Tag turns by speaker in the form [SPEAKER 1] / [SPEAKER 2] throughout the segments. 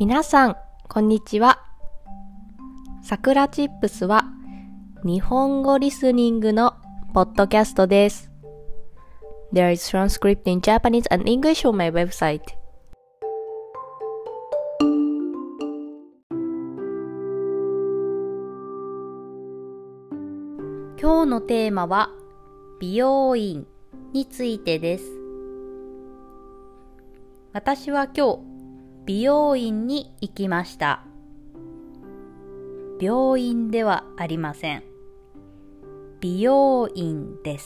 [SPEAKER 1] 皆さん、こんにちは。さくらチップスは日本語リスニングのポッドキャストです。There is transcript in Japanese and English on my website. 今日のテーマは美容院についてです。私は今日美容院に行きました。病院ではありません。美容院です。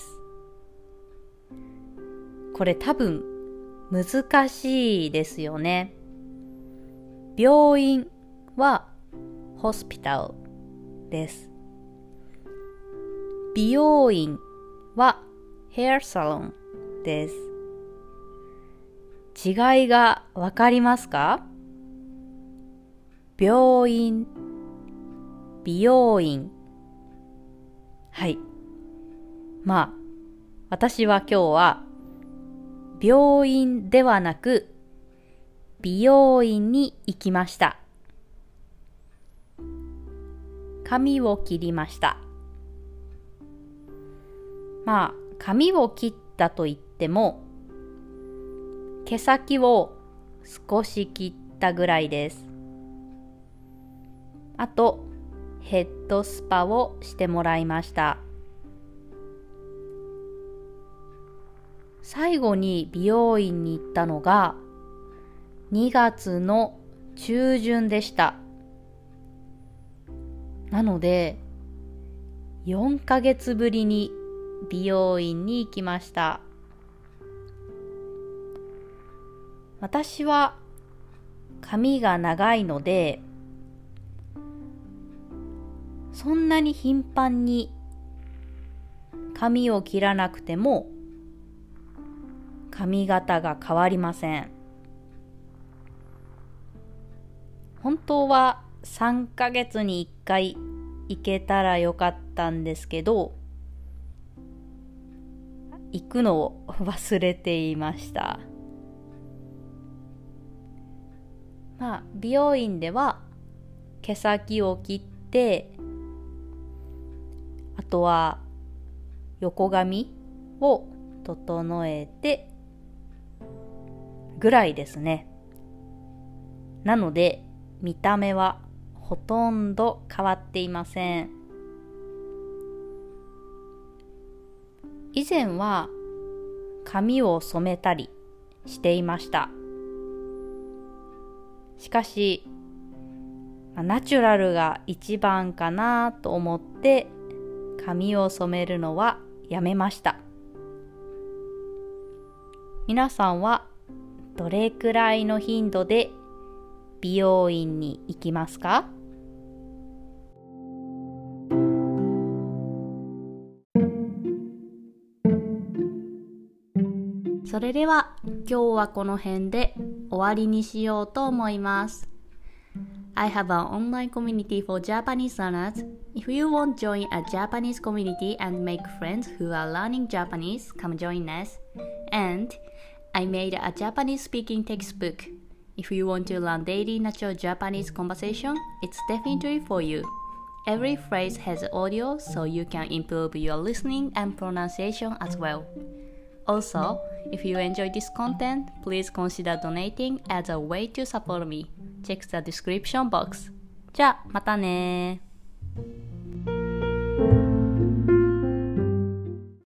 [SPEAKER 1] これ多分難しいですよね。病院はホスピタルです。美容院はヘアサロンです。違いがわかりますか？病院、美容院。はい。私は今日は病院ではなく美容院に行きました。髪を切りました。髪を切ったといっても毛先を少し切ったぐらいです。あと、ヘッドスパをしてもらいました。最後に美容院に行ったのが2月の中旬でした。なので、4ヶ月ぶりに美容院に行きました。私は髪が長いので、そんなに頻繁に髪を切らなくても髪型が変わりません。本当は3ヶ月に1回行けたらよかったんですけど、行くのを忘れていました。美容院では毛先を切って、あとは横髪を整えてぐらいですね。なので見た目はほとんど変わっていません。以前は髪を染めたりしていました。しかし、ナチュラルが一番かなと思って髪を染めるのはやめました。皆さんはどれくらいの頻度で美容院に行きますか？それでは今日はこの辺で終わりにしようと思います。I have an online community for Japanese learners. If you want to join a Japanese community and make friends who are learning Japanese, come join us. And I made a Japanese speaking textbook. If you want to learn daily natural Japanese conversation, it's definitely for you. Every phrase has audio, so you can improve your listening and pronunciation as well.Also, if you enjoy this content, please consider donating as a way to support me. Check the description box. じゃあ、またねー。